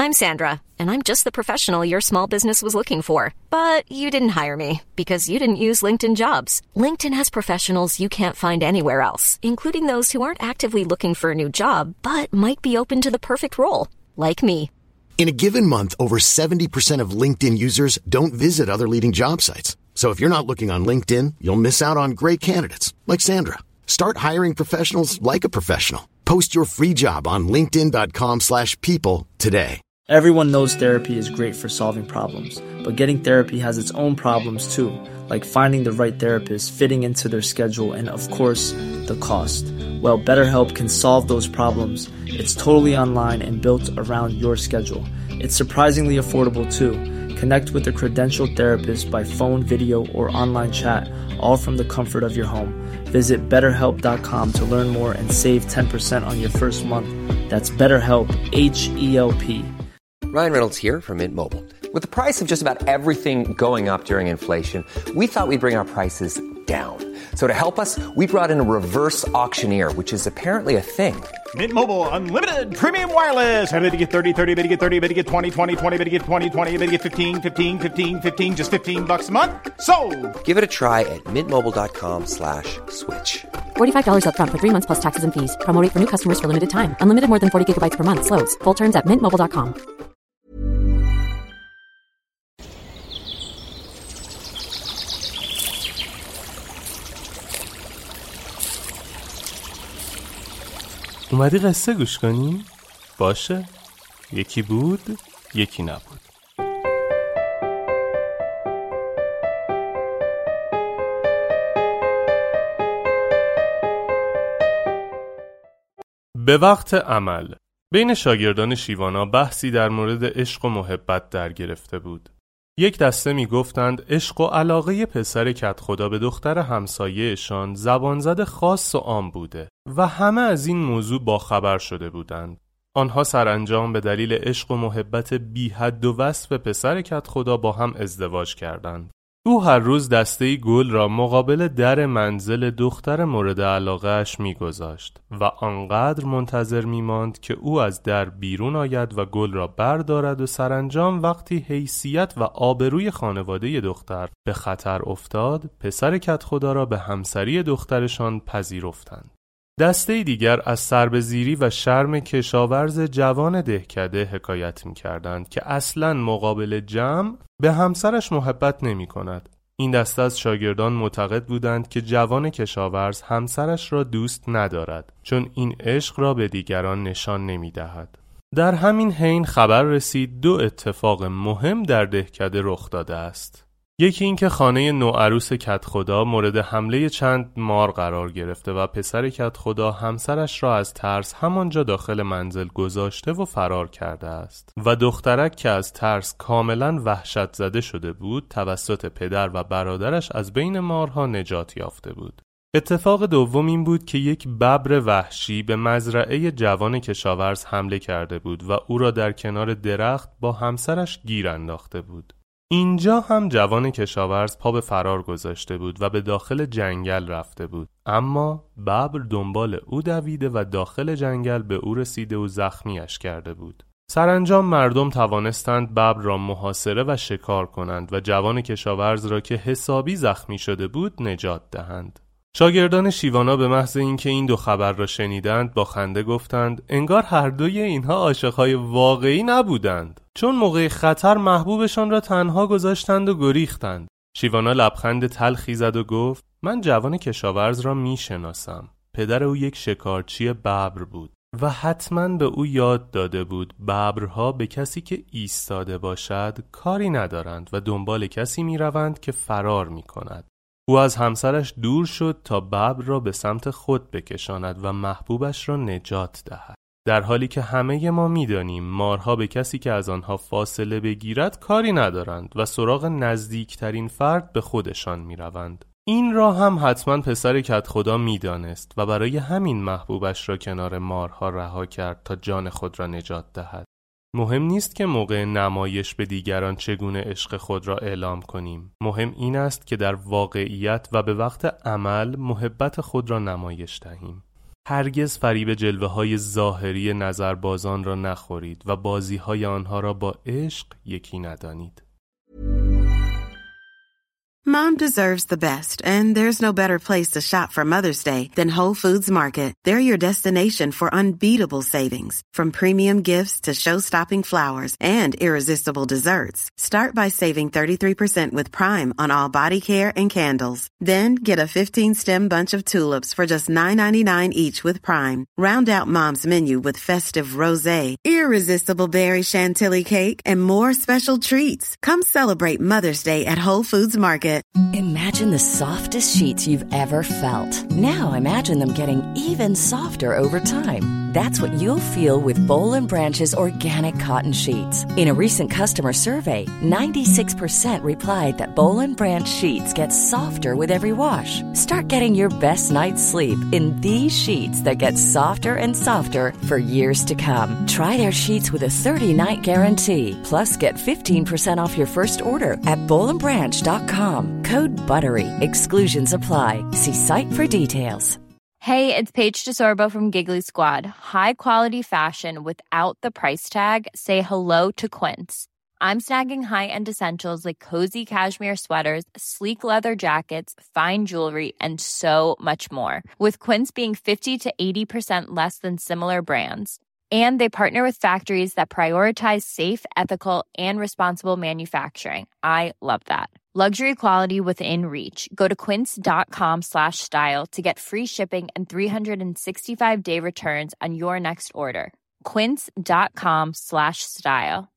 I'm Sandra, and I'm just the professional your small business was looking for. But you didn't hire me because you didn't use LinkedIn Jobs. LinkedIn has professionals you can't find anywhere else, including those who aren't actively looking for a new job, but might be open to the perfect role, like me. In a given month, over 70% of LinkedIn users don't visit other leading job sites. So if you're not looking on LinkedIn, you'll miss out on great candidates like Sandra. Start hiring professionals like a professional. Post your free job on linkedin.com/people today. Everyone knows therapy is great for solving problems, but getting therapy has its own problems too, like finding the right therapist, fitting into their schedule, and of course, the cost. Well, BetterHelp can solve those problems. It's totally online and built around your schedule. It's surprisingly affordable too. Connect with a credentialed therapist by phone, video, or online chat, all from the comfort of your home. Visit BetterHelp.com to learn more and save 10% on your first month. That's BetterHelp, H-E-L-P. Ryan Reynolds here from Mint Mobile. With the price of just about everything going up during inflation, we thought we'd bring our prices down. So to help us, we brought in a reverse auctioneer, which is apparently a thing. Mint Mobile Unlimited Premium Wireless. How to get 30, 30, bit to get 30, bit to get 20, 20, 20, bit to get 20, 20, bit to get 15, 15, 15, 15, just $15 a month. Sold! Give it a try at mintmobile.com/switch. $45 up front for 3 months plus taxes and fees. Promo rate for new customers for limited time. Unlimited more than 40 gigabytes per month. Slows full terms at mintmobile.com. اومدی قصه گوش کنیم؟ باشه. یکی بود، یکی نبود. به وقت عمل بین شاگردان شیوانا بحثی در مورد عشق و محبت در گرفته بود. یک دسته می گفتند عشق و علاقه پسر کدخدا به دختر همسایه‌شان زبانزد خاص و عام بوده و همه از این موضوع باخبر شده بودند. آنها سرانجام به دلیل عشق و محبت بی حد و وصف پسر کدخدا با هم ازدواج کردند. او هر روز دسته‌ای گل را مقابل در منزل دختر مورد علاقه‌اش می‌گذاشت و آنقدر منتظر می‌ماند که او از در بیرون آید و گل را بردارد و سرانجام وقتی حیثیت و آبروی خانواده دختر به خطر افتاد، پسر کدخدا را به همسری دخترشان پذیرفتند. دسته دیگر از سربزیری و شرم کشاورز جوان دهکده حکایت می‌کردند که اصلاً مقابل جمع به همسرش محبت نمی‌کند. این دسته از شاگردان معتقد بودند که جوان کشاورز همسرش را دوست ندارد چون این عشق را به دیگران نشان نمی‌دهد. در همین حین خبر رسید 2 اتفاق مهم در دهکده رخ داده است. یکی این که خانه نوعروس کدخدا مورد حمله چند مار قرار گرفته و پسر کدخدا همسرش را از ترس همانجا داخل منزل گذاشته و فرار کرده است و دخترک که از ترس کاملا وحشت زده شده بود توسط پدر و برادرش از بین مارها نجات یافته بود. اتفاق دوم این بود که یک ببر وحشی به مزرعه جوان کشاورز حمله کرده بود و او را در کنار درخت با همسرش گیر انداخته بود. اینجا هم جوان کشاورز پا به فرار گذاشته بود و به داخل جنگل رفته بود، اما ببر دنبال او دویده و داخل جنگل به او رسیده و زخمیش کرده بود. سرانجام مردم توانستند ببر را محاصره و شکار کنند و جوان کشاورز را که حسابی زخمی شده بود نجات دهند. شاگردان شیوانا به محض اینکه این 2 خبر را شنیدند با خنده گفتند انگار هر دوی اینها عاشقای واقعی نبودند، چون موقع خطر محبوبشان را تنها گذاشتند و گریختند. شیوانا لبخند تلخی زد و گفت من جوان کشاورز را میشناسم. پدر او یک شکارچی ببر بود و حتما به او یاد داده بود ببرها به کسی که ایستاده باشد کاری ندارند و دنبال کسی میروند که فرار میکند. او از همسرش دور شد تا ببر را به سمت خود بکشاند و محبوبش را نجات دهد. در حالی که همه ما می‌دانیم مارها به کسی که از آنها فاصله بگیرد کاری ندارند و سراغ نزدیکترین فرد به خودشان می‌روند. این را هم حتما پسر کدخدا می‌دانست و برای همین محبوبش را کنار مارها رها کرد تا جان خود را نجات دهد. مهم نیست که موقع نمایش به دیگران چگونه عشق خود را اعلام کنیم. مهم این است که در واقعیت و به وقت عمل محبت خود را نمایش دهیم. هرگز فریب جلوه‌های ظاهری نظربازان را نخورید و بازی‌های آنها را با عشق یکی ندانید. Mom deserves the best, and there's no better place to shop for Mother's Day than Whole Foods Market. They're your destination for unbeatable savings, from premium gifts to show-stopping flowers and irresistible desserts. Start by saving 33% with Prime on all body care and candles. Then get a 15-stem bunch of tulips for just $9.99 each with Prime. Round out Mom's menu with festive rosé, irresistible berry chantilly cake, and more special treats. Come celebrate Mother's Day at Whole Foods Market. Imagine the softest sheets you've ever felt. Now imagine them getting even softer over time. That's what you'll feel with Boll & Branch's organic cotton sheets. In a recent customer survey, 96% replied that Boll & Branch sheets get softer with every wash. Start getting your best night's sleep in these sheets that get softer and softer for years to come. Try their sheets with a 30-night guarantee. Plus, get 15% off your first order at bollandbranch.com. Code BUTTERY. Exclusions apply. See site for details. Hey, it's Paige DeSorbo from Giggly Squad. High quality fashion without the price tag. Say hello to Quince. I'm snagging high-end essentials like cozy cashmere sweaters, sleek leather jackets, fine jewelry, and so much more. With Quince being 50 to 80% less than similar brands. And they partner with factories that prioritize safe, ethical, and responsible manufacturing. I love that. Luxury quality within reach. Go to quince.com/style to get free shipping and 365-day returns on your next order. Quince.com/style.